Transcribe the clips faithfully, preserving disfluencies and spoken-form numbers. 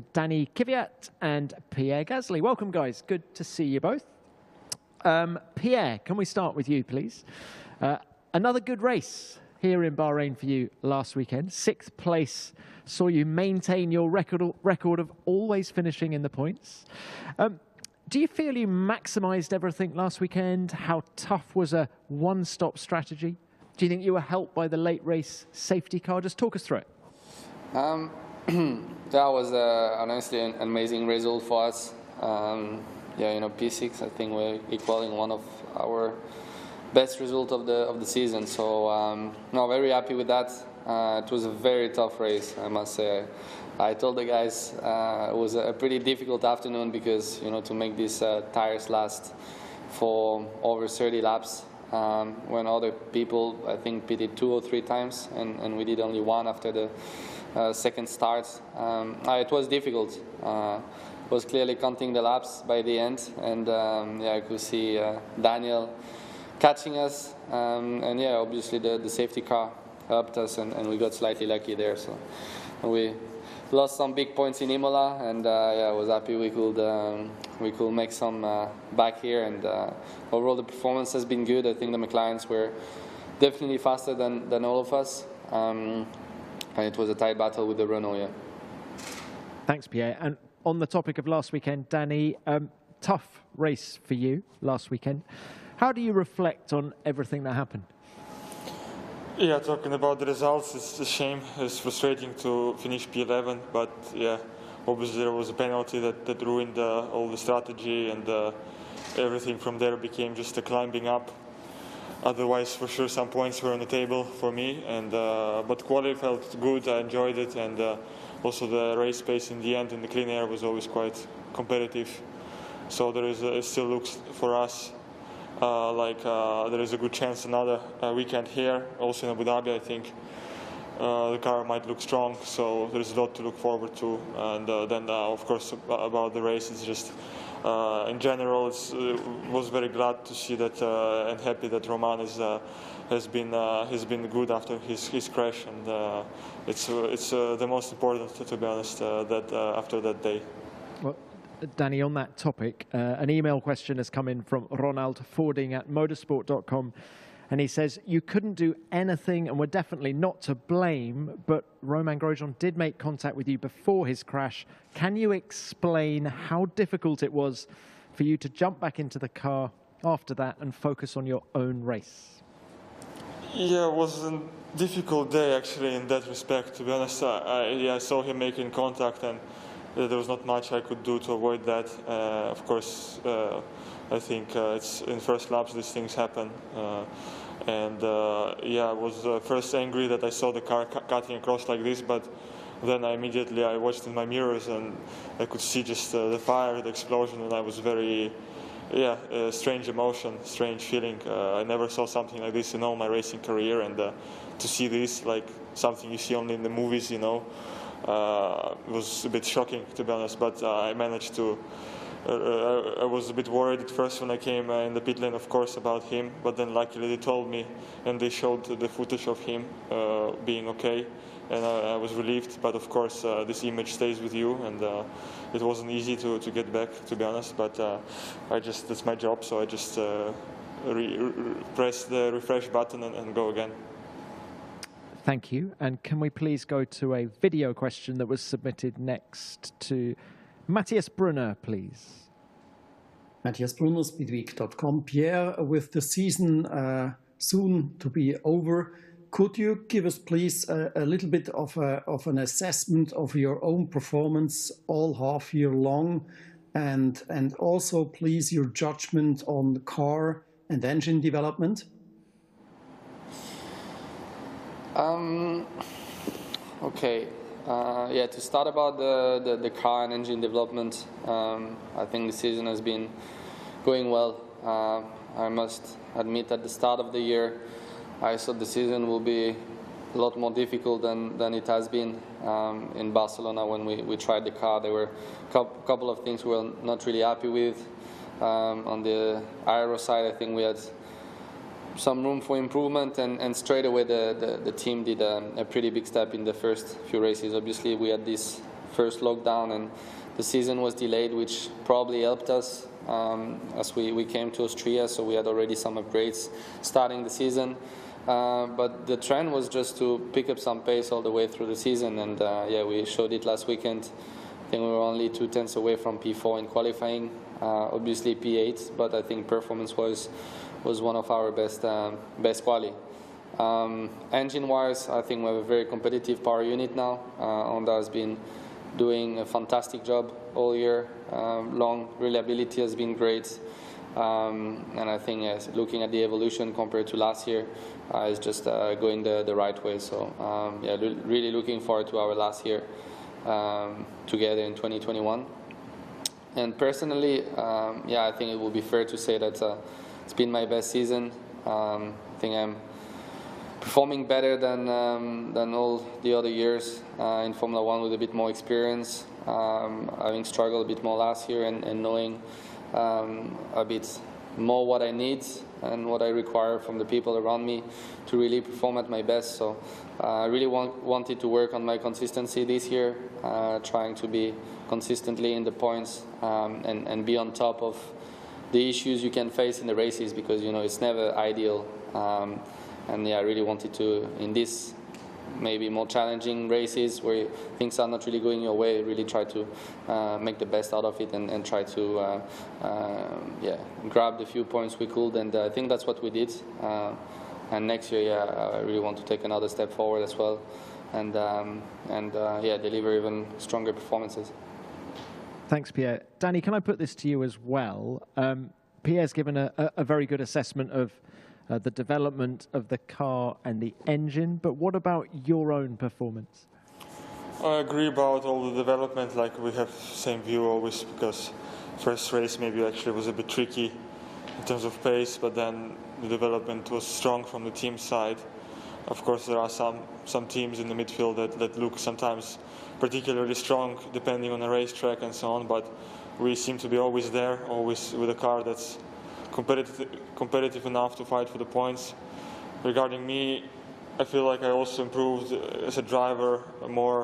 Danny Kvyat and Pierre Gasly. Welcome, guys. Good to see you both. Um, Pierre, can we start with you, please? Uh, another good race here in Bahrain for you last weekend. Sixth place saw you maintain your record, record of always finishing in the points. Um, do you feel you maximised everything last weekend? How tough was a one-stop strategy? Do you think you were helped by the late race safety car? Just talk us through it. Um, that was uh, honestly an amazing result for us. Um, yeah, you know, P six, I think we're equaling one of our best result of the of the season. So, um, no, very happy with that. Uh, it was a very tough race, I must say. I told the guys uh, it was a pretty difficult afternoon because, you know, to make these uh, tires last for over thirty laps, um, when other people, I think, pitted two or three times, and, and we did only one after the uh, second start. Um, uh, it was difficult. Uh, was clearly counting the laps by the end, and um, yeah, I could see uh, Daniel catching us, um, and yeah, obviously the, the safety car helped us, and, and we got slightly lucky there. So we lost some big points in Imola, and uh, yeah, I was happy we could um, we could make some uh, back here, and uh, overall the performance has been good. I think the McLarens were definitely faster than, than all of us, um, and it was a tight battle with the Renault. Yeah. Thanks, Pierre. And on the topic of last weekend, Danny, um, tough race for you last weekend. How do you reflect on everything that happened? Yeah, talking about the results, it's a shame. It's frustrating to finish P eleven, but yeah, obviously there was a penalty that, that ruined uh, all the strategy, and uh, everything from there became just a climbing up. Otherwise, for sure, some points were on the table for me, and uh, but quality felt good. I enjoyed it, and uh, also the race pace in the end in the clean air was always quite competitive. So there is a, it still looks for us uh, like uh, there is a good chance another uh, weekend here, also in Abu Dhabi. I think uh, the car might look strong, so there is a lot to look forward to. And uh, then, uh, of course, about the race, it's just. Uh, in general, it's, uh, was very glad to see that uh, and happy that Romain is, uh, has been uh, has been good after his his crash, and uh, it's uh, it's uh, the most important, to be honest, uh, that uh, after that day. Well, Danny, on that topic, uh, an email question has come in from Ronald Fording at motorsport dot com. And he says, you couldn't do anything and were definitely not to blame, but Romain Grosjean did make contact with you before his crash. Can you explain how difficult it was for you to jump back into the car after that and focus on your own race? Yeah, it was a difficult day, actually, in that respect. To be honest, I, I, yeah, I saw him making contact, and uh, there was not much I could do to avoid that. Uh, of course, uh, I think uh, it's in first laps these things happen. Uh, And uh, yeah, I was uh, first angry that I saw the car cu cutting across like this, but then I immediately I watched in my mirrors and I could see just uh, the fire, the explosion, and I was very, yeah, uh, strange emotion, strange feeling. Uh, I never saw something like this in all my racing career, and uh, to see this, like something you see only in the movies, you know, uh, it was a bit shocking, to be honest, but uh, I managed to. Uh, I was a bit worried at first when I came uh, in the pit lane, of course, about him, but then luckily they told me and they showed the footage of him uh, being okay, and I, I was relieved. But of course, uh, this image stays with you, and uh, it wasn't easy to, to get back, to be honest, but uh, I just, that's my job, so I just uh, re re press the refresh button and, and go again. Thank you. And can we please go to a video question that was submitted next to Matthias Brunner, please. Matthias Brunner, Speedweek dot com. Pierre, with the season uh, soon to be over, could you give us, please, a, a little bit of, a, of an assessment of your own performance all half year long, and, and also, please, your judgment on the car and engine development? Um, okay. Uh, yeah, to start about the, the, the car and engine development, um, I think the season has been going well. Uh, I must admit at the start of the year, I thought the season will be a lot more difficult than, than it has been um, in Barcelona when we, we tried the car. There were a couple of things we were not really happy with. Um, on the aero side, I think we had some room for improvement, and, and straight away the, the, the team did a, a pretty big step in the first few races. Obviously we had this first lockdown, and the season was delayed, which probably helped us um, as we, we came to Austria, so we had already some upgrades starting the season. Uh, but the trend was just to pick up some pace all the way through the season, and uh, yeah, we showed it last weekend. I think we were only two tenths away from P four in qualifying, uh, obviously P eight, but I think performance was was one of our best um, best quali. Um, engine-wise, I think we have a very competitive power unit now. Uh, Honda has been doing a fantastic job all year um, long. Reliability has been great, um, and I think yes, looking at the evolution compared to last year, uh, is just uh, going the, the right way. So um, yeah, really looking forward to our last year um, together in twenty twenty-one. And personally, um, yeah, I think it would be fair to say that uh, it's been my best season. Um, I think I'm performing better than um, than all the other years uh, in Formula One with a bit more experience, um, having struggled a bit more last year, and, and knowing um, a bit more what I need and what I require from the people around me to really perform at my best. So uh, I really want, wanted to work on my consistency this year, uh, trying to be consistently in the points um, and, and be on top of the issues you can face in the races, because you know it's never ideal. Um, And yeah, I really wanted to, in this maybe more challenging races where things are not really going your way, really try to uh, make the best out of it and, and try to uh, uh, yeah, grab the few points we could. And uh, I think that's what we did. Uh, and next year, yeah, I really want to take another step forward as well, and um, and uh, yeah, deliver even stronger performances. Thanks, Pierre. Danny, can I put this to you as well? Um, Pierre's given a, a, a very good assessment of Uh, the development of the car and the engine, but what about your own performance? I agree about all the development, like we have same view always, because first race maybe actually was a bit tricky in terms of pace, but then the development was strong from the team side. Of course, there are some, some teams in the midfield that, that look sometimes particularly strong depending on the racetrack and so on, but we seem to be always there, always with a car that's competitive, competitive enough to fight for the points. Regarding me, I feel like I also improved as a driver, more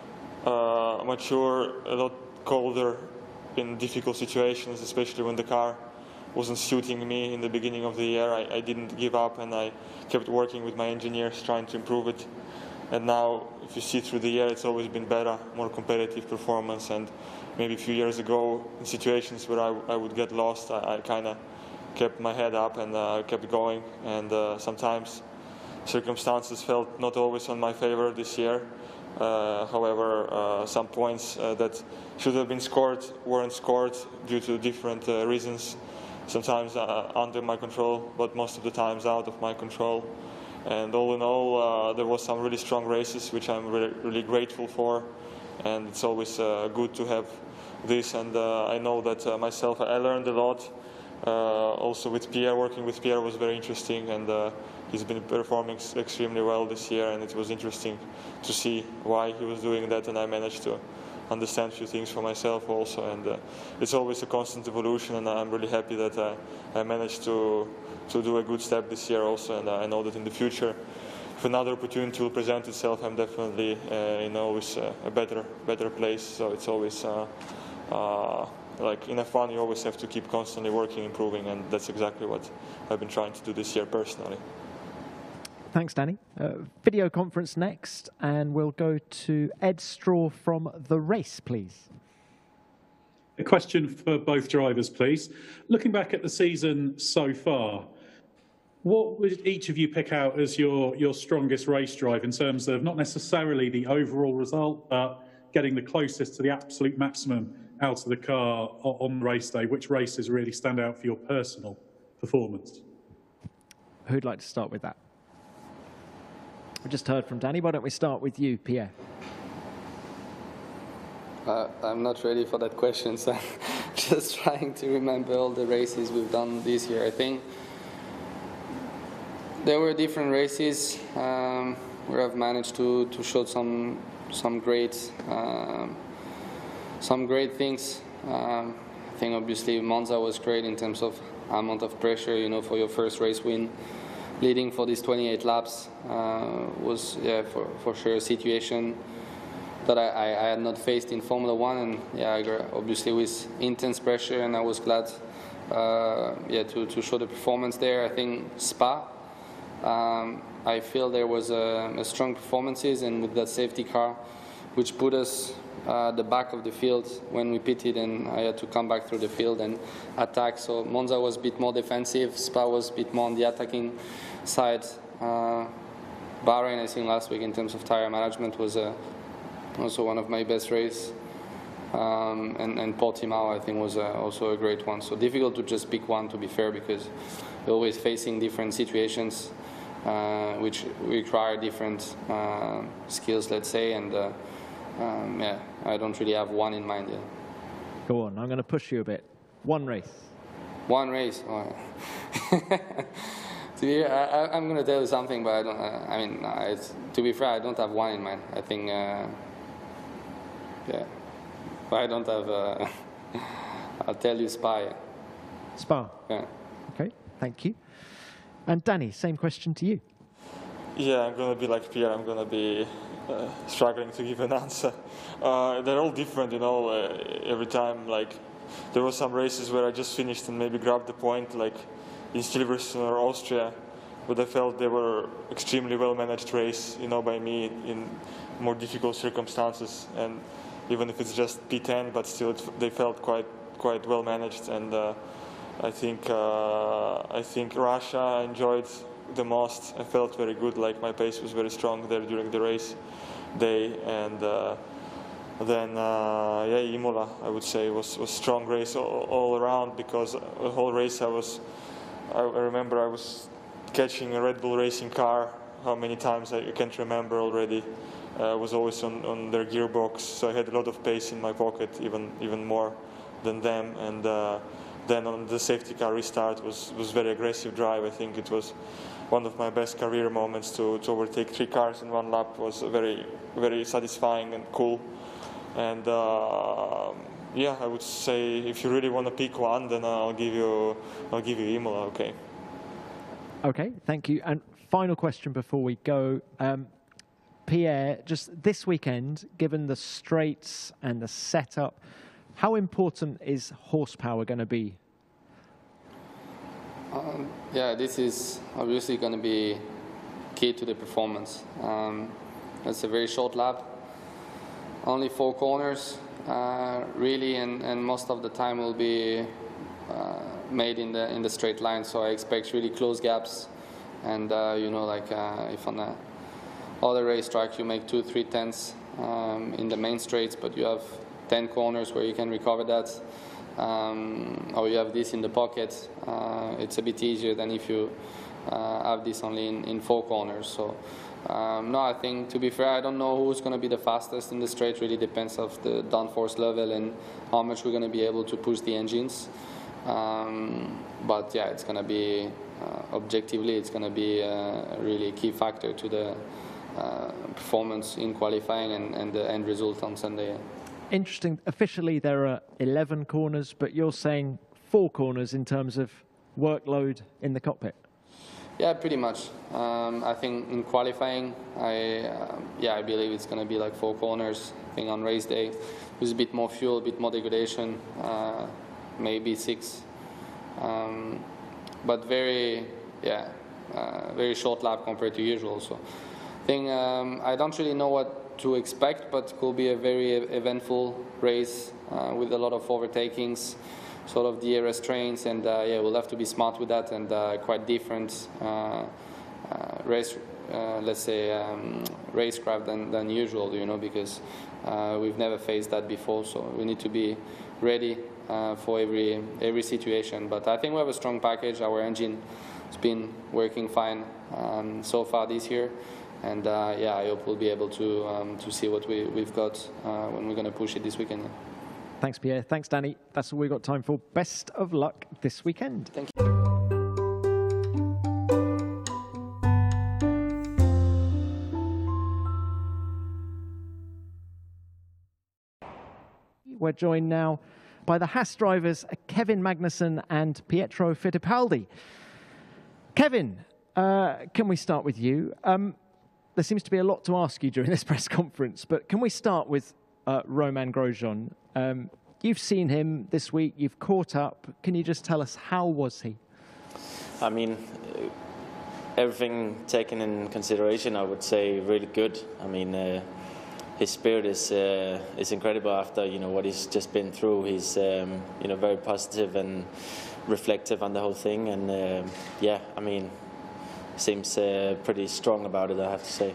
uh, mature, a lot colder in difficult situations, especially when the car wasn't suiting me in the beginning of the year. I, I didn't give up, and I kept working with my engineers trying to improve it. And now, if you see through the year, it's always been better, more competitive performance. And maybe a few years ago, in situations where I, I would get lost, I, I kind of kept my head up and uh, kept going, and uh, sometimes circumstances felt not always on my favor this year. Uh, however, uh, some points uh, that should have been scored weren't scored due to different uh, reasons. Sometimes uh, under my control, but most of the times out of my control. And all in all, uh, there was some really strong races, which I'm really, really grateful for. And it's always uh, good to have this. And uh, I know that uh, myself, I learned a lot. Uh, also with Pierre, working with Pierre was very interesting, and uh, he's been performing extremely well this year, and it was interesting to see why he was doing that, and I managed to understand a few things for myself also. And uh, it's always a constant evolution, and I'm really happy that uh, I managed to to do a good step this year also, and uh, I know that in the future, if another opportunity will present itself, I'm definitely uh, in always uh, a better better place. So it's always uh, uh, like in F one, you always have to keep constantly working, improving, and that's exactly what I've been trying to do this year personally. Thanks, Danny. Uh, video conference next, and we'll go to Ed Straw from The Race, please. A question for both drivers, please. Looking back at the season so far, what would each of you pick out as your, your strongest race drive in terms of not necessarily the overall result, but getting the closest to the absolute maximum out of the car on race day? Which races really stand out for your personal performance? Who'd like to start with that? We just heard from Danny. Why don't we start with you, Pierre? Uh, I'm not ready for that question, so I'm just trying to remember all the races we've done this year. I think there were different races um, where I've managed to, to show some some great um, some great things. Um, I think obviously Monza was great in terms of amount of pressure, you know, for your first race win. Leading for these twenty-eight laps uh, was, yeah, for, for sure a situation that I, I, I had not faced in Formula One, and yeah, I got, obviously with intense pressure, and I was glad, uh, yeah, to, to show the performance there. I think Spa, um, I feel there was a, a strong performances, and with that safety car, which put us uh, the back of the field when we pitted, and I had to come back through the field and attack. So Monza was a bit more defensive, Spa was a bit more on the attacking side. Uh, Bahrain, I think last week in terms of tire management was uh, also one of my best races. Um, and, and Portimao, I think, was uh, also a great one. So difficult to just pick one, to be fair, because we're always facing different situations uh, which require different uh, skills, let's say, and uh, um, yeah, I don't really have one in mind yet. Go on, I'm going to push you a bit. One race. One race. Oh. To be, I, I'm going to tell you something, but I don't. Uh, I mean, uh, it's, to be fair, I don't have one in mind. I think, uh, yeah, but I don't have. Uh, I'll tell you, Spa. Spa. Yeah. Okay, thank you. And Danny, same question to you. Yeah, I'm going to be like Pierre. I'm going to be uh, struggling to give an answer. Uh, they're all different, you know. Uh, every time, like, there were some races where I just finished and maybe grabbed the point, like in Silverstone or Austria, but I felt they were extremely well managed race, you know, by me in more difficult circumstances. And even if it's just P ten, but still, it, they felt quite quite well managed. And uh, I think uh, I think Russia I enjoyed the most. I felt very good, like my pace was very strong there during the race day. And uh, then uh, yeah, Imola, I would say, was was strong race all, all around, because the whole race I was. I remember I was catching a Red Bull racing car. How many times I can't remember already. I uh, was always on, on their gearbox, so I had a lot of pace in my pocket, even even more than them. And uh, then on the safety car restart was was very aggressive drive. I think it was one of my best career moments to, to overtake three cars in one lap. Was very very satisfying and cool. And uh, yeah, I would say if you really want to pick one, then I'll give you I'll give you Imola. Okay. Okay, thank you. And final question before we go. Um, Pierre, just this weekend, given the straights and the setup, how important is horsepower going to be? Um, yeah, this is obviously going to be key to the performance. Um, it's a very short lap, only four corners, uh, really, and, and most of the time will be uh, made in the in the straight line. So I expect really close gaps, and uh, you know, like uh, if on a other racetrack you make two, three tenths um, in the main straights, but you have ten corners where you can recover that, um, or you have this in the pocket. Uh, it's a bit easier than if you uh, have this only in, in four corners. So um, no, I think, to be fair, I don't know who's going to be the fastest in the straight. Really depends of the downforce level and how much we're going to be able to push the engines. Um, but yeah, it's going to be uh, objectively, it's going to be a really key factor to the Uh, performance in qualifying and, and the end result on Sunday. Interesting. Officially, there are eleven corners, but you're saying four corners in terms of workload in the cockpit. Yeah, pretty much. Um, I think in qualifying, I uh, yeah, I believe it's going to be like four corners. I think on race day, with a bit more fuel, a bit more degradation, uh, maybe six. Um, but very, yeah, uh, very short lap compared to usual. So. Thing, um, I don't really know what to expect, but it could be a very eventful race uh, with a lot of overtakings, sort of D R S trains, and uh, yeah, we'll have to be smart with that, and uh, quite different uh, uh, race, uh, let's say, um, racecraft than, than usual, you know, because uh, we've never faced that before, so we need to be ready uh, for every every situation. But I think we have a strong package. Our engine has been working fine um, so far this year. And uh, yeah, I hope we'll be able to um, to see what we, we've got uh, when we're going to push it this weekend. Thanks, Pierre. Thanks, Danny. That's all we've got time for. Best of luck this weekend. Thank you. We're joined now by the Haas drivers, Kevin Magnussen and Pietro Fittipaldi. Kevin, uh, can we start with you? Um, there seems to be a lot to ask you during this press conference, but can we start with uh, Romain Grosjean? Um, you've seen him this week, you've caught up. Can you just tell us, how was he? I mean, everything taken in consideration, I would say really good. I mean, uh, his spirit is uh, is incredible after, you know, what he's just been through. He's um, you know, very positive and reflective on the whole thing, and uh, yeah, I mean, seems uh, pretty strong about it, I have to say.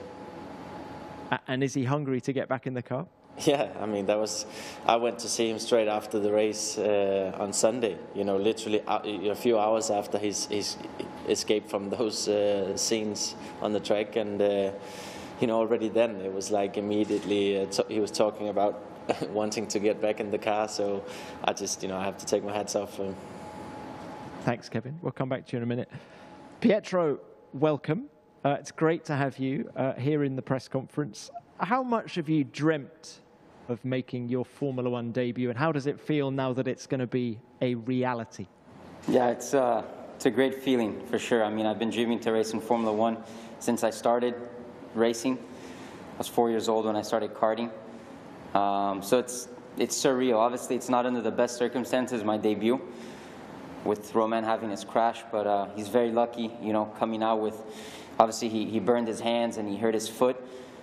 And is he hungry to get back in the car? Yeah, I mean, that was, I went to see him straight after the race uh, on Sunday, you know, literally a few hours after his, his escape from those uh, scenes on the track. And, uh, you know, already then it was like immediately uh, he was talking about wanting to get back in the car. So I just, you know, I have to take my hats off for him. Thanks, Kevin. We'll come back to you in a minute. Pietro, welcome. Uh, it's great to have you uh, here in the press conference. How much have you dreamt of making your Formula One debut, and how does it feel now that it's going to be a reality? Yeah, it's, uh, it's a great feeling for sure. I mean, I've been dreaming to race in Formula One since I started racing. I was four years old when I started karting. Um, so it's, it's surreal. Obviously, it's not under the best circumstances, my debut, with Romain having his crash, but uh, he's very lucky, you know, coming out with, obviously he, he burned his hands and he hurt his foot.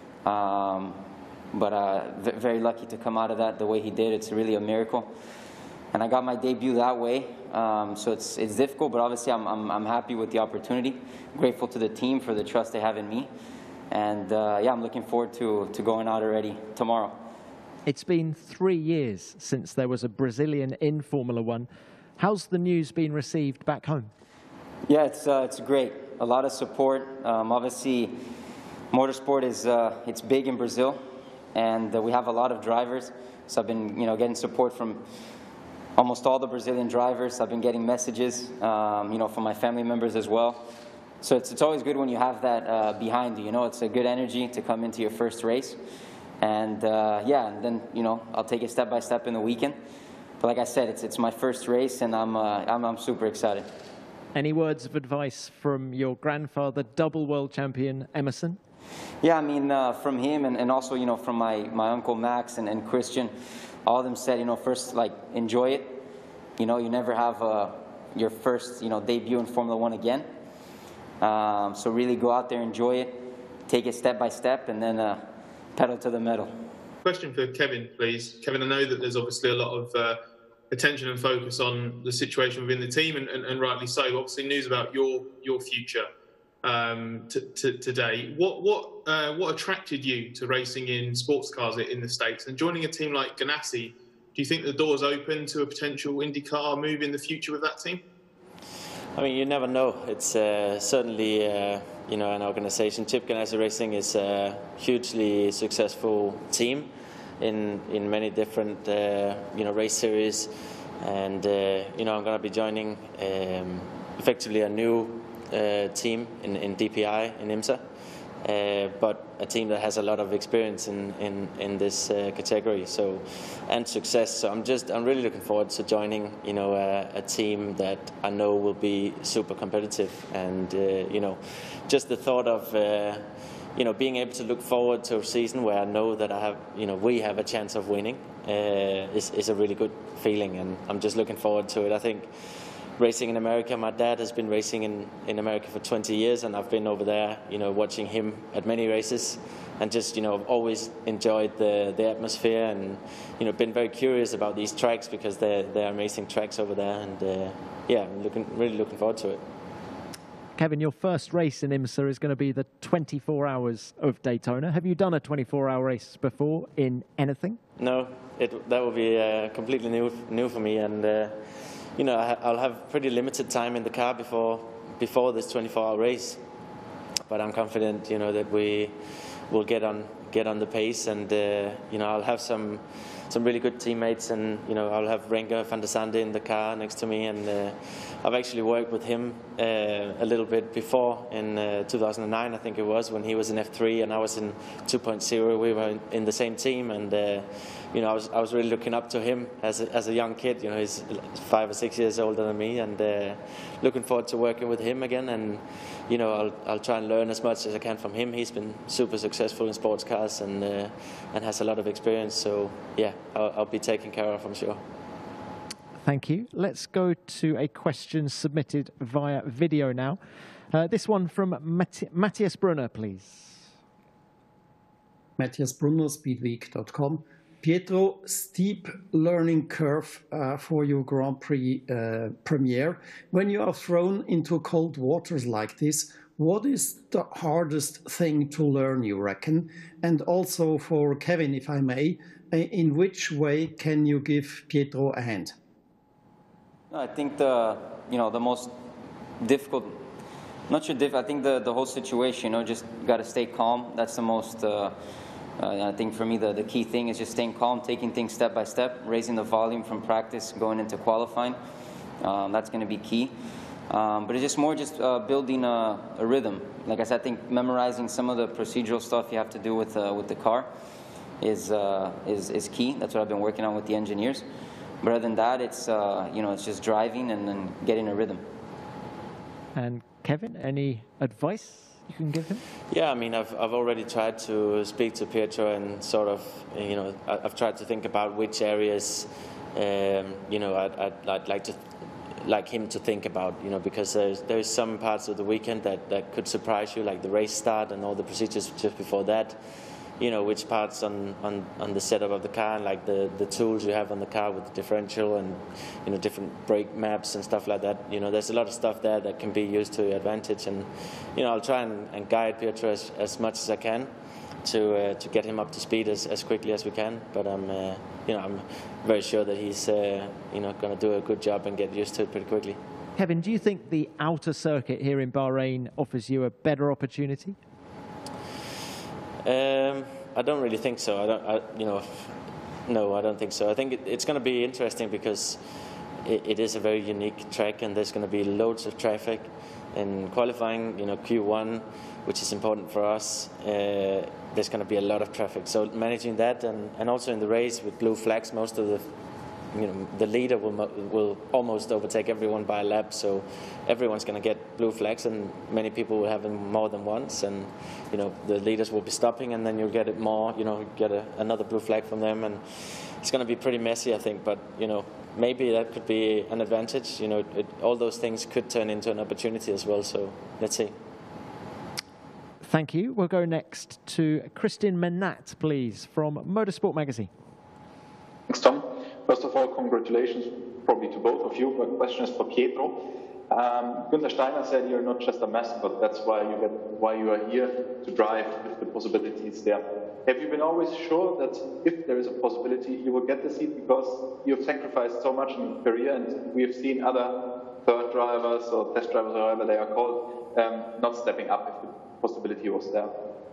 Um, but uh, very lucky to come out of that the way he did. It's really a miracle. And I got my debut that way, um, so it's, it's difficult, but obviously I'm, I'm, I'm happy with the opportunity. Grateful to the team for the trust they have in me. And uh, yeah, I'm looking forward to, to going out already tomorrow. It's been three years since there was a Brazilian in Formula One. How's the news been received back home? Yeah, it's, uh, it's great. A lot of support. Um, obviously, motorsport is uh, it's big in Brazil, and uh, we have a lot of drivers. So I've been, you know, getting support from almost all the Brazilian drivers. I've been getting messages, um, you know, from my family members as well. So it's it's always good when you have that uh, behind you. You know, it's a good energy to come into your first race, and uh, yeah, and then you know I'll take it step by step in the weekend. But like I said, it's it's my first race, and I'm uh, I'm, I'm super excited. Any words of advice from your grandfather, double world champion Emerson? Yeah, I mean, uh, from him and, and also, you know, from my, my uncle Max and, and Christian, all of them said, you know, first, like, enjoy it. You know, you never have uh, your first, you know, debut in Formula One again. Um, so really go out there, enjoy it, take it step by step, and then uh, pedal to the metal. Question for Kevin, please. Kevin, I know that there's obviously a lot of uh, attention and focus on the situation within the team, and, and, and rightly so. Obviously, news about your your future um, t t today. What what uh, what attracted you to racing in sports cars in the States and joining a team like Ganassi? Do you think the door's open to a potential IndyCar move in the future with that team? I mean, you never know. It's uh, certainly uh, you know, an organization. Chip Ganassi Racing is a hugely successful team in in many different uh, you know race series, and uh, you know I'm going to be joining um, effectively a new uh, team in, in D P I in IMSA, uh, but a team that has a lot of experience in in, in this uh, category. So and success. So I'm just I'm really looking forward to joining you know a, a team that I know will be super competitive, and uh, you know just the thought of. Uh, You know, being able to look forward to a season where I know that I have, you know, we have a chance of winning uh, is, is a really good feeling, and I'm just looking forward to it. I think racing in America, my dad has been racing in, in America for twenty years, and I've been over there, you know, watching him at many races, and just, you know, I've always enjoyed the, the atmosphere, and, you know, been very curious about these tracks because they're, they're amazing tracks over there, and uh, yeah, I'm looking, really looking forward to it. Kevin, your first race in IMSA is going to be the twenty-four hours of Daytona. Have you done a twenty-four hour race before in anything? No, it, that will be uh, completely new new for me, and uh, you know I, I'll have pretty limited time in the car before before this twenty-four hour race. But I'm confident, you know, that we will get on get on the pace, and uh, you know I'll have some some really good teammates, and you know I'll have Renger van der Sande in the car next to me, and uh, I've actually worked with him uh, a little bit before in uh, two thousand nine, I think it was, when he was in F three and I was in two point oh. We were in, in the same team, and uh, you know, I was I was really looking up to him as a, as a young kid. You know, he's five or six years older than me, and uh, looking forward to working with him again. And you know, I'll I'll try and learn as much as I can from him. He's been super successful in sports cars and uh, and has a lot of experience. So yeah, I'll, I'll be taken care of, I'm sure. Thank you. Let's go to a question submitted via video now. Uh, this one from Matt Matthias Brunner, please. Matthias Brunner, speedweek dot com. Pietro, steep learning curve uh, for your Grand Prix uh, premiere. When you are thrown into cold waters like this, what is the hardest thing to learn, you reckon? And also for Kevin, if I may, in which way can you give Pietro a hand? I think the, you know, the most difficult, not sure diff, I think the, the whole situation, you know, just got to stay calm. That's the most, uh, uh, I think for me, the, the key thing is just staying calm, taking things step by step, raising the volume from practice, going into qualifying. Um, that's going to be key. Um, but it's just more just uh, building a, a rhythm. Like I said, I think memorizing some of the procedural stuff you have to do with, uh, with the car is, uh, is, is key. That's what I've been working on with the engineers. But other than that, it's uh, you know, it's just driving and then getting a rhythm. And Kevin, any advice you can give him? Yeah, I mean, I've I've already tried to speak to Pietro and sort of, you know, I've tried to think about which areas, um, you know, I'd, I'd, I'd like to, like him to think about, you know, because there's there's some parts of the weekend that that could surprise you, like the race start and all the procedures just before that. You know, which parts on, on, on the setup of the car, and like the, the tools you have on the car with the differential and, you know, different brake maps and stuff like that. You know, there's a lot of stuff there that can be used to your advantage. And, you know, I'll try and, and guide Pietro as, as much as I can to uh, to get him up to speed as, as quickly as we can. But I'm, uh, you know, I'm very sure that he's, uh, you know, going to do a good job and get used to it pretty quickly. Kevin, do you think the outer circuit here in Bahrain offers you a better opportunity? Um, I don't really think so. I don't, I, you know, no, I don't think so. I think it, it's going to be interesting because it, it is a very unique track, and there's going to be loads of traffic. In qualifying, you know, Q one, which is important for us, uh, there's going to be a lot of traffic. So managing that, and, and also in the race with blue flags, most of the, you know, the leader will will almost overtake everyone by a lap. So everyone's going to get blue flags, and many people will have them more than once. And you know, the leaders will be stopping, and then you'll get it more. You know, get a, another blue flag from them, and it's going to be pretty messy, I think. But you know, maybe that could be an advantage. You know, it, all those things could turn into an opportunity as well. So let's see. Thank you. We'll go next to Christian Menat, please, from Motorsport Magazine. Thanks, Tom. First of all, congratulations probably to both of you. My question is for Pietro. Um, Günther Steiner said you're not just a mascot, that's why you, get, why you are here to drive if the possibility is there. Have you been always sure that if there is a possibility you will get the seat, because you've sacrificed so much in your career, and we have seen other third drivers or test drivers or however they are called um, not stepping up if the possibility was there?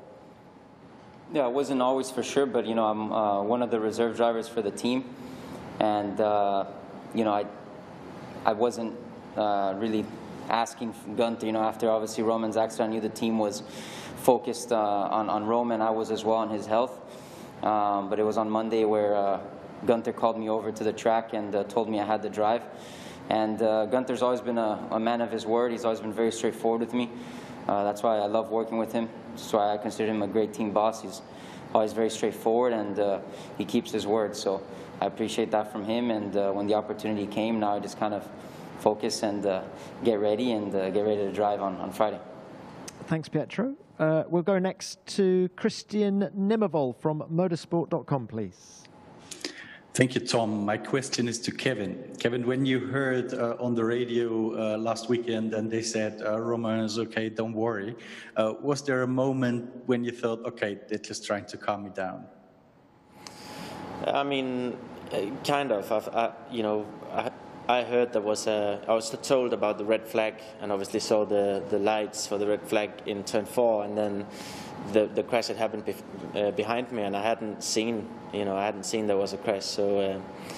Yeah, I wasn't always for sure, but you know, I'm uh, one of the reserve drivers for the team. And, uh, you know, I, I wasn't uh, really asking Günther, you know, after obviously Roman's accident, I knew the team was focused uh, on, on Roman. I was as well on his health. Um, but it was on Monday where uh, Günther called me over to the track and uh, told me I had the drive. And uh, Günther's always been a, a man of his word. He's always been very straightforward with me. Uh, that's why I love working with him. That's why I consider him a great team boss. He's always very straightforward, and uh, he keeps his word. So I appreciate that from him, and uh, when the opportunity came, now I just kind of focus and uh, get ready and uh, get ready to drive on, on Friday. Thanks, Pietro. Uh, we'll go next to Christian Nimmervoll from motorsport dot com, please. Thank you, Tom. My question is to Kevin. Kevin, when you heard uh, on the radio uh, last weekend and they said, uh, Roman is okay, don't worry, uh, was there a moment when you thought, okay, they're just trying to calm me down? I mean, kind of. I've, I, you know, I, I heard there was a, I was told about the red flag, and obviously saw the, the lights for the red flag in turn four, and then the, the crash had happened bef uh, behind me, and I hadn't seen, you know, I hadn't seen there was a crash. So, uh,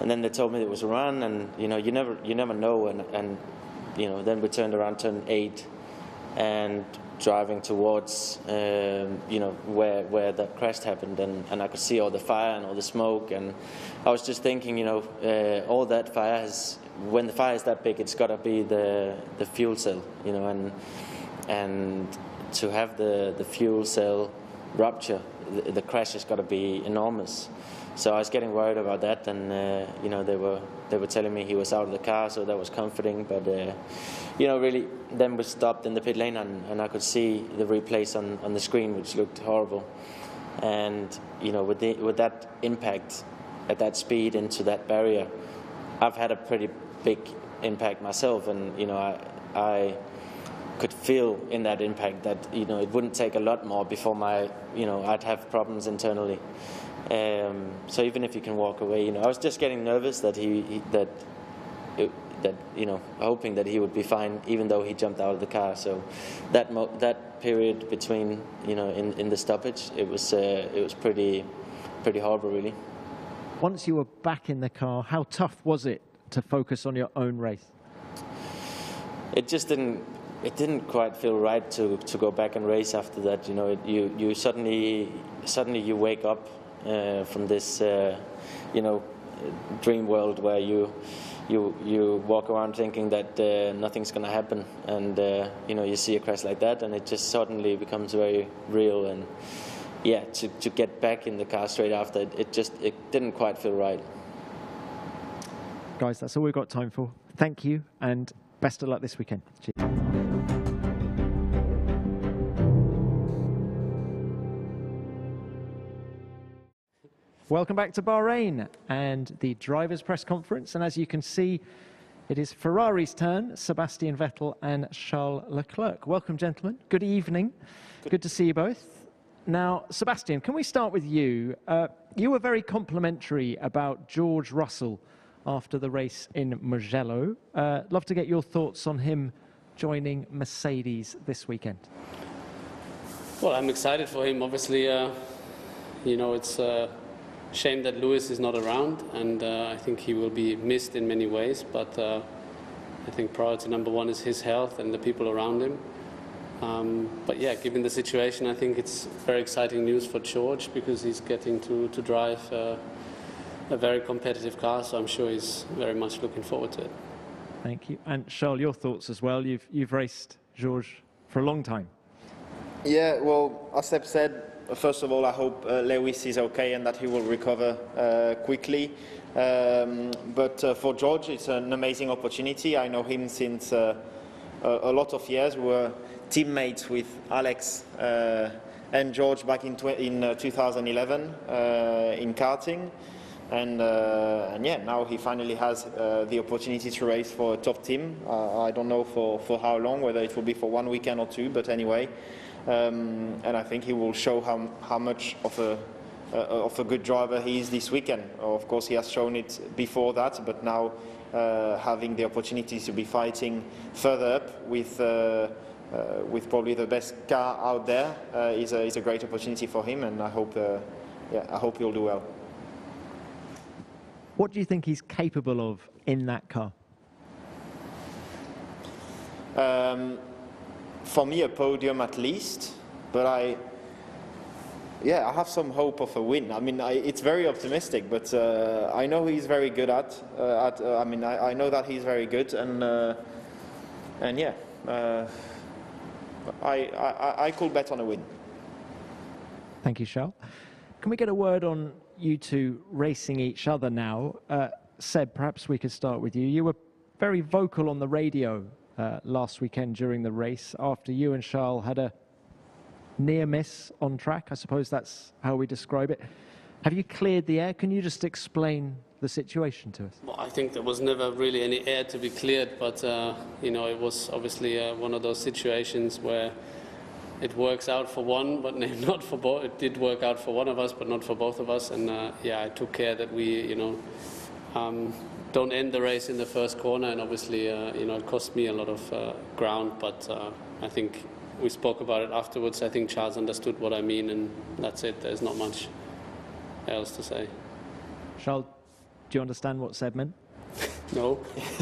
and then they told me it was a run, and you know, you never you never know, and and you know, then we turned around, turn eight, and driving towards um, you know, where where that crash happened, and, and I could see all the fire and all the smoke, and I was just thinking, you know, uh, all that fire has, when the fire is that big, it's got to be the the fuel cell, you know, and and to have the the fuel cell rupture, the, the crash has got to be enormous. So I was getting worried about that, and uh, you know, they were they were telling me he was out of the car, so that was comforting. But uh, you know, really, then we stopped in the pit lane, and, and I could see the replays on, on the screen, which looked horrible. And you know, with the, with that impact at that speed into that barrier, I've had a pretty big impact myself, and you know, I I could feel in that impact that, you know, it wouldn't take a lot more before my, you know, I'd have problems internally. Um, so even if you can walk away, you know, I was just getting nervous that he, he that, it, that you know, hoping that he would be fine, even though he jumped out of the car. So that mo that period between, you know, in in the stoppage, it was uh, it was pretty pretty horrible, really. Once you were back in the car, how tough was it to focus on your own race? It just didn't. It didn't quite feel right to to go back and race after that. You know, it, you you suddenly suddenly you wake up uh, from this uh, you know, dream world where you you you walk around thinking that uh, nothing's going to happen, and uh, you know, you see a crash like that, and it just suddenly becomes very real. And yeah, to to get back in the car straight after, it, it just it didn't quite feel right. Guys, that's all we've got time for. Thank you, and best of luck this weekend. Cheers. Welcome back to Bahrain and the drivers' press conference. And as you can see, it is Ferrari's turn, Sebastian Vettel and Charles Leclerc. Welcome, gentlemen. Good evening. Good, Good to see you both. Now, Sebastian, can we start with you? Uh, you were very complimentary about George Russell after the race in Mugello. Uh, love to get your thoughts on him joining Mercedes this weekend. Well, I'm excited for him. Obviously, uh, you know, it's a shame that Lewis is not around, and uh, I think he will be missed in many ways. But uh, I think priority number one is his health and the people around him. Um, but yeah, given the situation, I think it's very exciting news for George, because he's getting to, to drive uh, a very competitive car, so I'm sure he's very much looking forward to it. Thank you. And Charles, your thoughts as well. You've, you've raced George for a long time. Yeah, well, as Seb said, first of all, I hope uh, Lewis is okay and that he will recover uh, quickly. Um, but uh, for George, it's an amazing opportunity. I know him since uh, a, a lot of years. We were teammates with Alex uh, and George back in, in uh, two thousand eleven uh, in karting. And, uh, and yeah, now he finally has uh, the opportunity to race for a top team. Uh, I don't know for, for how long, whether it will be for one weekend or two, but anyway. Um, and I think he will show how, how much of a, uh, of a good driver he is this weekend. Of course, he has shown it before that, but now uh, having the opportunity to be fighting further up with, uh, uh, with probably the best car out there uh, is, a, is a great opportunity for him, and I hope, uh, yeah, I hope he'll do well. What do you think he's capable of in that car? Um, for me, a podium at least, but I, yeah, I have some hope of a win. I mean, I, it's very optimistic, but uh, I know he's very good at. Uh, at uh, I mean, I, I know that he's very good, and uh, and yeah, uh, I, I I could bet on a win. Thank you, Charles. Can we get a word on you two racing each other now? Uh, Seb, perhaps we could start with you. You were very vocal on the radio uh, last weekend during the race after you and Charles had a near miss on track. I suppose that's how we describe it. Have you cleared the air? Can you just explain the situation to us? Well, I think there was never really any air to be cleared, but uh, you know, it was obviously uh, one of those situations where it works out for one, but not for both. It did work out for one of us, but not for both of us. And uh, yeah, I took care that we, you know, um, don't end the race in the first corner. And obviously, uh, you know, it cost me a lot of uh, ground. But uh, I think we spoke about it afterwards. I think Charles understood what I mean, and that's it. There's not much else to say. Charles, Do you understand what Seb meant? No.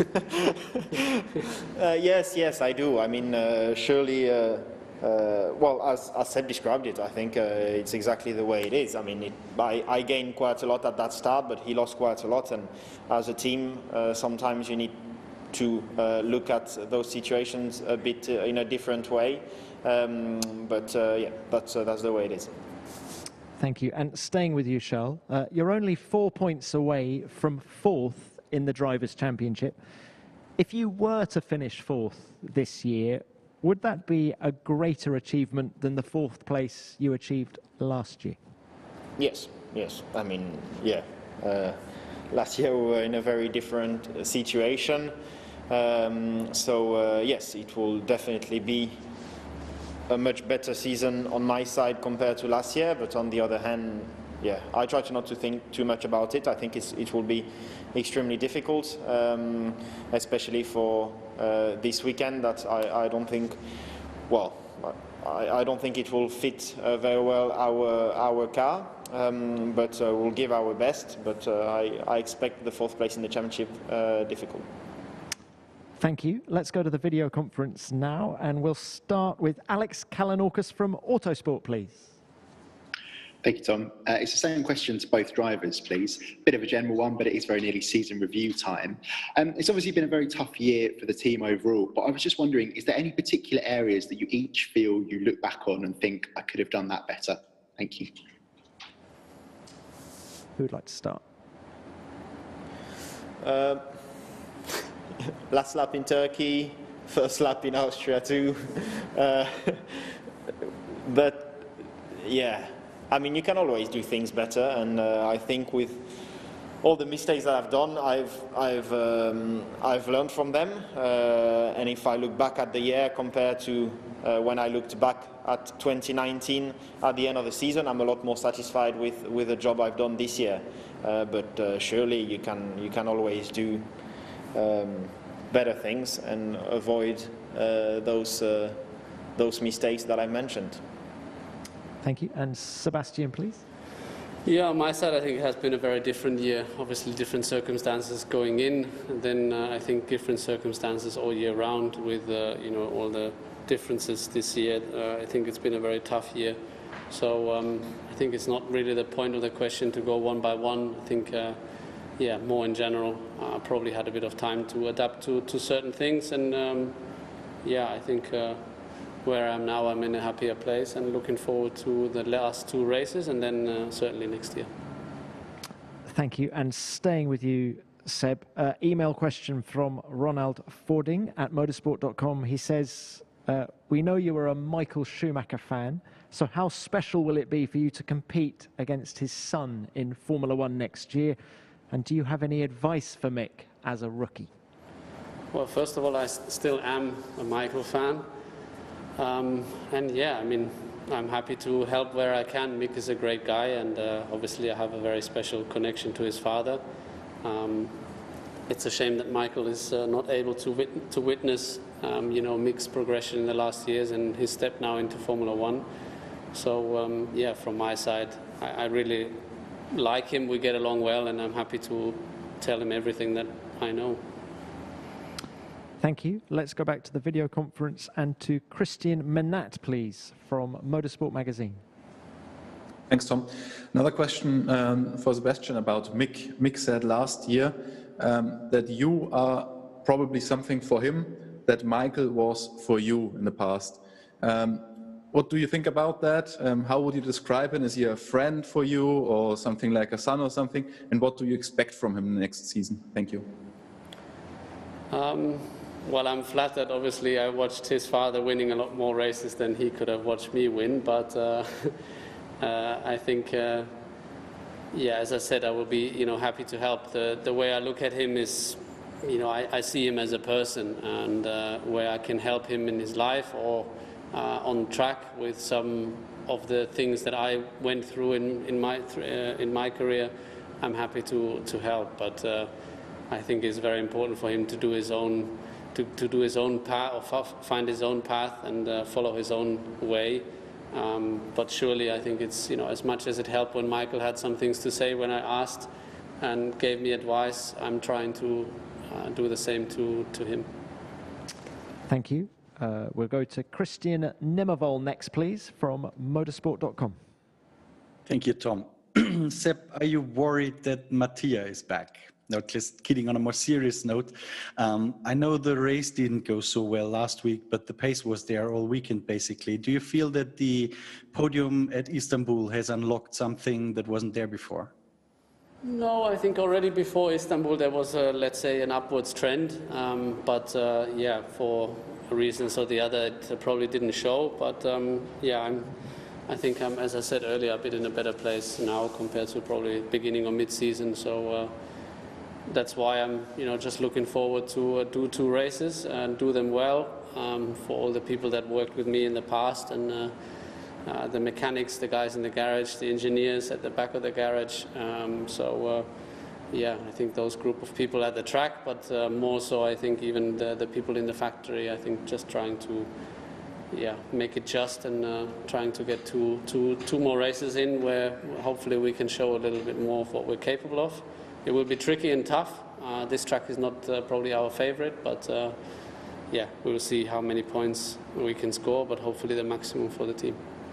uh, yes, yes, I do. I mean, uh, surely, uh, uh, well, as, as Seb described it, I think uh, it's exactly the way it is. I mean, it, I, I gained quite a lot at that start, but he lost quite a lot. And as a team, uh, sometimes you need to uh, look at those situations a bit uh, in a different way. Um, but uh, yeah, that's, uh, that's the way it is. Thank you. And staying with you, Charles, uh, you're only four points away from fourth in the Drivers' Championship. If you were to finish fourth this year, would that be a greater achievement than the fourth place you achieved last year? Yes, yes. I mean, yeah. Uh, last year we were in a very different situation. Um, so, uh, yes, it will definitely be a much better season on my side compared to last year, but on the other hand, yeah, I try to not to think too much about it. I think it's, it will be extremely difficult, um, especially for uh, this weekend. That I, I don't think, well, I, I don't think it will fit uh, very well our our car, um, but uh, we'll give our best. But uh, I, I expect the fourth place in the championship uh, difficult. Thank you. Let's go to the video conference now, and we'll start with Alex Kalinauckas from Autosport, please. Thank you, Tom. Uh, it's the same question to both drivers, please. Bit of a general one, but it is very nearly season review time. Um, it's obviously been a very tough year for the team overall, but I was just wondering, is there any particular areas that you each feel you look back on and think, I could have done that better? Thank you. Who would like to start? Uh, last lap in Turkey, first lap in Austria too. Uh, but yeah, I mean, you can always do things better, and uh, I think with all the mistakes that I've done, I've I've um, I've learned from them. Uh, and if I look back at the year compared to uh, when I looked back at twenty nineteen at the end of the season, I'm a lot more satisfied with with the job I've done this year. Uh, but uh, surely you can you can always do um, better things and avoid uh, those uh, those mistakes that I mentioned. Thank you. And Sebastian, please. Yeah, on my side, I think it has been a very different year. Obviously, different circumstances going in, and then uh, I think different circumstances all year round with uh, you know all the differences this year. Uh, I think it's been a very tough year. So um, I think it's not really the point of the question to go one by one. I think, uh, yeah, more in general, I uh, probably had a bit of time to adapt to, to certain things, and um, yeah, I think. Uh, Where I am now, I'm in a happier place and looking forward to the last two races and then uh, certainly next year. Thank you. And staying with you, Seb, uh, email question from Ronald Fording at motorsport dot com. He says, uh, we know you are a Michael Schumacher fan, so how special will it be for you to compete against his son in Formula One next year? And do you have any advice for Mick as a rookie? Well, first of all, I st still am a Michael fan. Um, and yeah, I mean, I'm happy to help where I can. Mick is a great guy, and uh, obviously I have a very special connection to his father. Um, it's a shame that Michael is uh, not able to, wit to witness, um, you know, Mick's progression in the last years and his step now into Formula One. So um, yeah, from my side, I, I really like him. We get along well, and I'm happy to tell him everything that I know. Thank you. Let's go back to the video conference and to Christian Menat, please, from Motorsport Magazine. Thanks, Tom. Another question um, for Sebastian about Mick. Mick said last year um, that you are probably something for him that Michael was for you in the past. Um, what do you think about that? Um, how would you describe him? Is he a friend for you or something like a son or something? And what do you expect from him next season? Thank you. Um, Well, I'm flattered. Obviously, I watched his father winning a lot more races than he could have watched me win. But uh, uh, I think, uh, yeah, as I said, I will be, you know, happy to help. The the way I look at him is, you know, I, I see him as a person, and uh, where I can help him in his life or uh, on track with some of the things that I went through in in my uh, in my career, I'm happy to to help. But uh, I think it's very important for him to do his own. To, to do his own path, or find his own path, and uh, follow his own way. Um, but surely, I think it's, you know, as much as it helped when Michael had some things to say when I asked, and gave me advice. I'm trying to uh, do the same to, to him. Thank you. Uh, we'll go to Christian Nemmervoll next, please, from motorsport dot com. Thank you, Tom. Sepp, are you worried that Mattia is back? No, just kidding. On a more serious note, um, I know the race didn't go so well last week, but the pace was there all weekend, basically. Do you feel that the podium at Istanbul has unlocked something that wasn't there before? No, I think already before Istanbul there was, a, let's say, an upwards trend. Um, but uh, yeah, for reasons or the other, it probably didn't show. But um, yeah, I'm, I think I'm, as I said earlier, a bit in a better place now compared to probably beginning or mid-season. So uh, that's why I'm, you know, just looking forward to uh, do two races and do them well um, for all the people that worked with me in the past, and uh, uh, the mechanics, the guys in the garage, the engineers at the back of the garage. Um, so. Uh, Yeah, I think those group of people at the track, but uh, more so I think even the, the people in the factory, I think just trying to yeah, make it just and uh, trying to get two, two, two more races in where hopefully we can show a little bit more of what we're capable of. It will be tricky and tough. Uh, this track is not uh, probably our favorite, but uh, yeah, we will see how many points we can score, but hopefully the maximum for the team.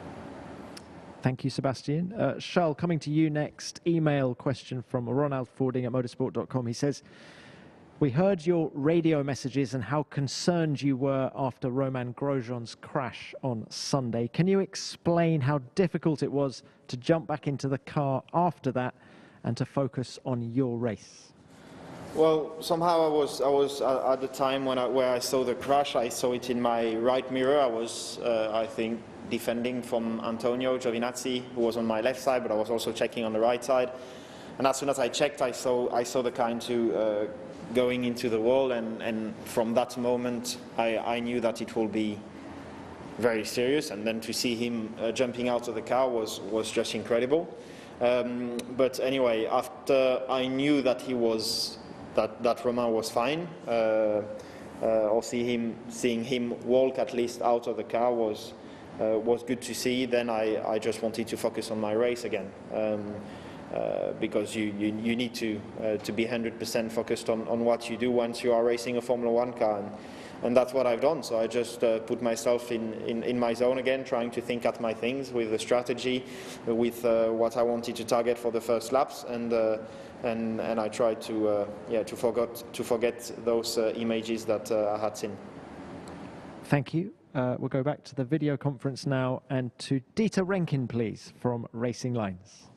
Thank you, Sebastian. Uh, Charles, coming to you next. Email question from Ronald Fording at motorsport dot com. He says, we heard your radio messages and how concerned you were after Romain Grosjean's crash on Sunday. Can you explain how difficult it was to jump back into the car after that and to focus on your race? Well, somehow I was, I was uh, at the time when I, where I saw the crash, I saw it in my right mirror. I was, uh, I think, defending from Antonio Giovinazzi, who was on my left side, but I was also checking on the right side. And as soon as I checked, I saw, I saw the car into, uh, going into the wall, and, and from that moment, I, I knew that it will be very serious. And then to see him uh, jumping out of the car was, was just incredible. Um, but anyway, after I knew that he was, that, that Romain was fine, uh, uh, or see him, seeing him walk at least out of the car was, Uh, was good to see. Then I, I just wanted to focus on my race again, um, uh, because you, you, you need to, uh, to be one hundred percent focused on, on what you do once you are racing a Formula One car, and, and that's what I've done. So I just uh, put myself in, in, in my zone again, trying to think at my things with the strategy, with uh, what I wanted to target for the first laps, and uh, and, and I tried to uh, yeah to forget to forget those uh, images that uh, I had seen. Thank you. Uh, we'll go back to the video conference now and to Dieter Renken, please, from Racing Lines.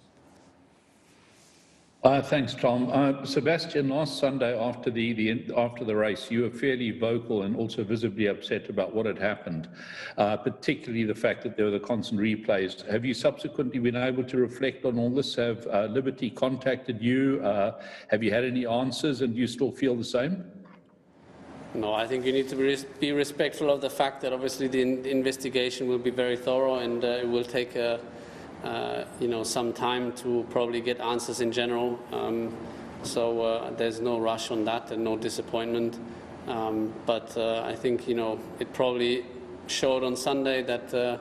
Uh, thanks, Tom. Uh, Sebastian, last Sunday after the, the after the race, you were fairly vocal and also visibly upset about what had happened, uh, particularly the fact that there were the constant replays. Have you subsequently been able to reflect on all this? Have uh, Liberty contacted you? Uh, have you had any answers, and do you still feel the same? No, I think you need to be, res be respectful of the fact that obviously the in investigation will be very thorough, and uh, it will take a, uh, you know, some time to probably get answers in general. Um, so uh, there's no rush on that and no disappointment. Um, but uh, I think, you know, it probably showed on Sunday that uh,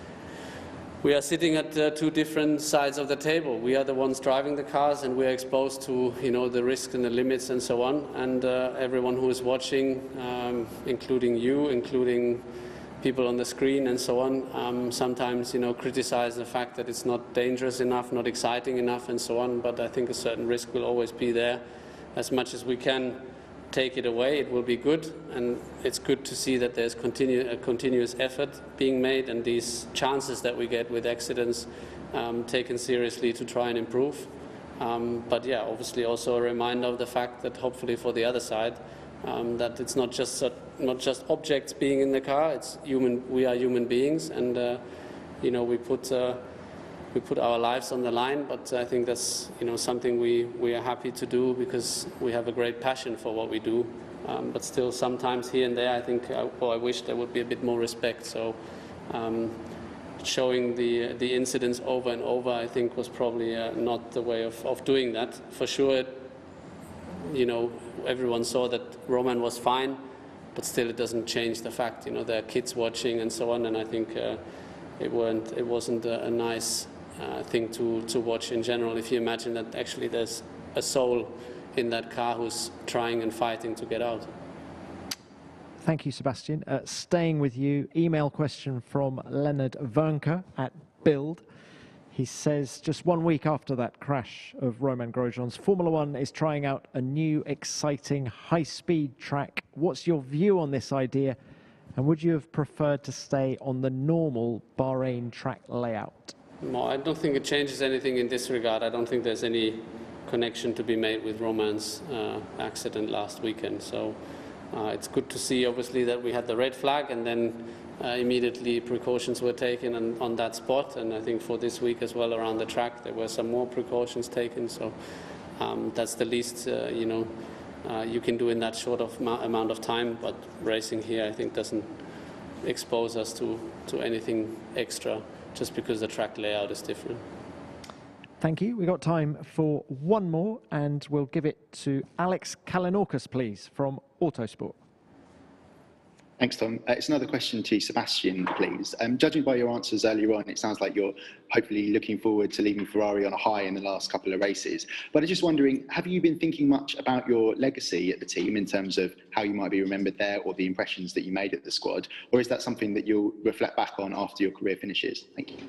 we are sitting at uh, two different sides of the table. We are the ones driving the cars, and we are exposed to, you know, the risks and the limits and so on. And uh, everyone who is watching, um, including you, including people on the screen and so on, um, sometimes, you know, criticize the fact that it's not dangerous enough, not exciting enough, and so on. But I think a certain risk will always be there. As much as we can take it away, it will be good, and it's good to see that there's continu a continuous effort being made, and these chances that we get with accidents um, taken seriously to try and improve. Um, but yeah, obviously also a reminder of the fact that hopefully for the other side, um, that it's not just uh, not just objects being in the car. It's human. We are human beings, and uh, you know, we put. Uh, We put our lives on the line, but I think that's, you know, something we, we are happy to do because we have a great passion for what we do. Um, but still, sometimes here and there, I think, uh, well, I wish there would be a bit more respect. So um, showing the the incidents over and over, I think, was probably uh, not the way of, of doing that. For sure, you know, everyone saw that Romain was fine, but still, it doesn't change the fact, you know, there are kids watching and so on, and I think uh, it weren't, it wasn't a, a nice. Uh, thing to, to watch in general. If you imagine that actually there's a soul in that car who's trying and fighting to get out. Thank you, Sebastian. Uh, staying with you, email question from Leonard Wernke at Build. He says, just one week after that crash of Romain Grosjean's, Formula One is trying out a new, exciting, high-speed track. What's your view on this idea? And would you have preferred to stay on the normal Bahrain track layout? No, I don't think it changes anything in this regard. I don't think there's any connection to be made with Romain's uh, accident last weekend. So uh, it's good to see, obviously, that we had the red flag, and then Uh, immediately precautions were taken on, on that spot, and I think for this week as well around the track there were some more precautions taken. So um, that's the least uh, you know uh, you can do in that short of amount of time. But racing here, I think, doesn't expose us to to anything extra just because the track layout is different. Thank you. We got time for one more, and we'll give it to Alex Kalinauckas, please, from Autosport. Thanks, Tom. Uh, it's another question to Sebastian, please. Um, judging by your answers earlier on, it sounds like you're hopefully looking forward to leaving Ferrari on a high in the last couple of races. But I'm just wondering, have you been thinking much about your legacy at the team in terms of how you might be remembered there, or the impressions that you made at the squad? Or is that something that you'll reflect back on after your career finishes? Thank you.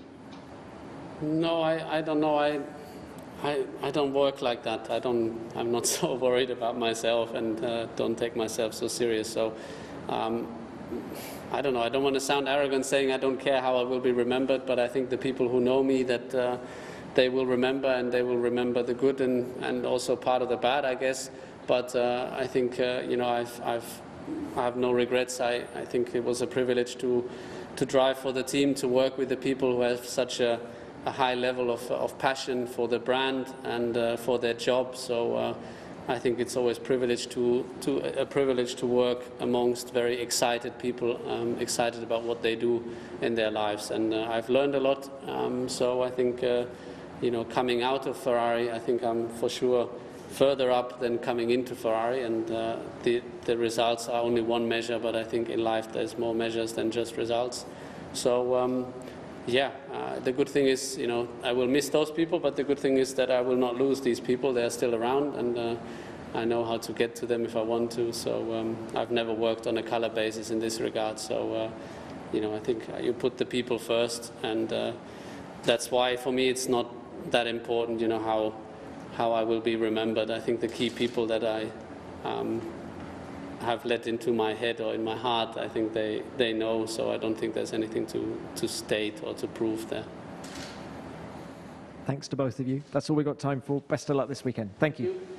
No, I, I don't know. I, I, I don't work like that. I don't, I'm not so worried about myself, and uh, don't take myself so serious. So. Um, I don't know, I don't want to sound arrogant saying I don't care how I will be remembered, but I think the people who know me, that uh, they will remember, and they will remember the good and, and also part of the bad, I guess. But uh, I think, uh, you know, I've, I've, I have no regrets. I, I think it was a privilege to, to drive for the team, to work with the people who have such a, a high level of, of passion for the brand and uh, for their job. So. Uh, I think it's always privilege to, to, a privilege to work amongst very excited people, um, excited about what they do in their lives. And uh, I've learned a lot. Um, so I think, uh, you know, coming out of Ferrari, I think I'm for sure further up than coming into Ferrari. And uh, the, the results are only one measure, but I think in life there's more measures than just results. So, um, yeah, uh, the good thing is, you know, I will miss those people, but the good thing is that I will not lose these people. They're still around, and uh, I know how to get to them if I want to. So um, I've never worked on a color basis in this regard. So, uh, you know, I think you put the people first, and uh, that's why for me it's not that important, you know, how, how I will be remembered. I think the key people that I um, have let into my head or in my heart, I think they, they know, so I don't think there's anything to, to state or to prove there. Thanks to both of you. That's all we've got time for. Best of luck this weekend. Thank you.